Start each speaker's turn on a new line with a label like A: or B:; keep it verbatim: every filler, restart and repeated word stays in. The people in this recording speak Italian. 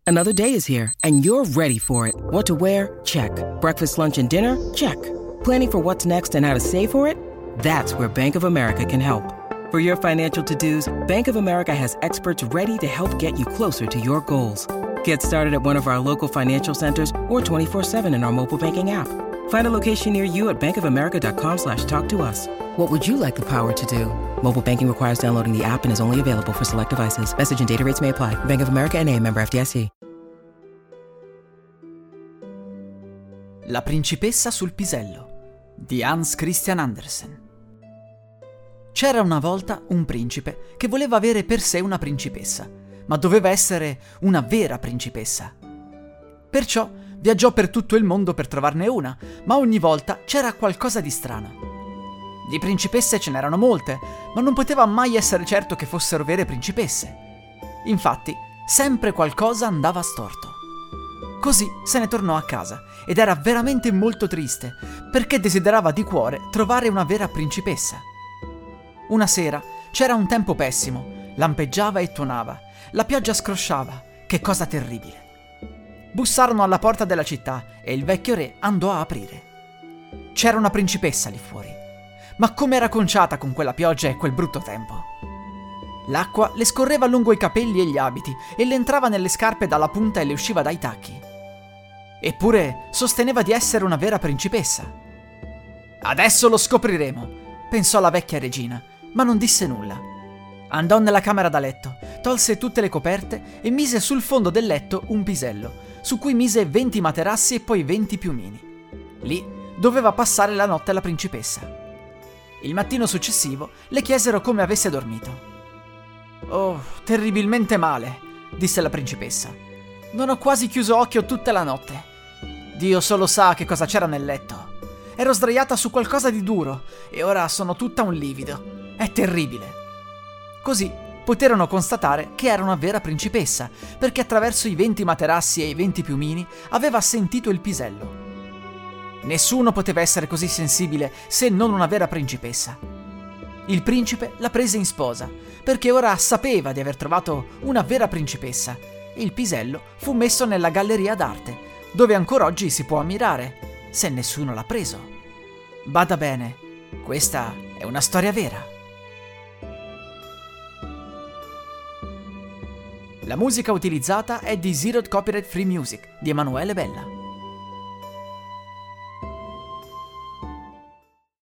A: Another day is here, and you're ready for it. What to wear? Check. Breakfast, lunch, and dinner? Check. Planning for what's next and how to save for it? That's where Bank of America can help. For your financial to-dos, Bank of America has experts ready to help get you closer to your goals. Get started at one of our local financial centers or twenty-four seven in our mobile banking app. Find a location near you at bankofamerica.com slash talk to us. What would you like the power to do? Mobile banking requires downloading the app and is only available for select devices. Message and data rates may apply. Bank of America N A, member F D I C.
B: La principessa sul pisello di Hans Christian Andersen. C'era una volta un principe che voleva avere per sé una principessa, ma doveva essere una vera principessa. Perciò viaggiò per tutto il mondo per trovarne una, ma ogni volta c'era qualcosa di strano. Di principesse ce n'erano molte, ma non poteva mai essere certo che fossero vere principesse. Infatti, sempre qualcosa andava storto. Così se ne tornò a casa ed era veramente molto triste, perché desiderava di cuore trovare una vera principessa. Una sera c'era un tempo pessimo, lampeggiava e tuonava, la pioggia scrosciava, che cosa terribile. Bussarono alla porta della città e il vecchio re andò a aprire. C'era una principessa lì fuori, ma come era conciata con quella pioggia e quel brutto tempo. L'acqua le scorreva lungo i capelli e gli abiti e le entrava nelle scarpe dalla punta e le usciva dai tacchi. Eppure sosteneva di essere una vera principessa. Adesso lo scopriremo, pensò la vecchia regina, ma non disse nulla. Andò nella camera da letto, tolse tutte le coperte e mise sul fondo del letto un pisello, su cui mise venti materassi e poi venti piumini. Lì doveva passare la notte la principessa. Il mattino successivo le chiesero come avesse dormito. «Oh, terribilmente male», disse la principessa. «Non ho quasi chiuso occhio tutta la notte. Dio solo sa che cosa c'era nel letto. Ero sdraiata su qualcosa di duro e ora sono tutta un livido. È terribile». Così poterono constatare che era una vera principessa, perché attraverso i venti materassi e i venti piumini aveva sentito il pisello. Nessuno poteva essere così sensibile se non una vera principessa. Il principe la prese in sposa, perché ora sapeva di aver trovato una vera principessa, e il pisello fu messo nella galleria d'arte, dove ancora oggi si può ammirare, se nessuno l'ha preso. Bada bene, questa è una storia vera. La musica utilizzata è di Zeroed Copyright Free Music di Emanuele Bella.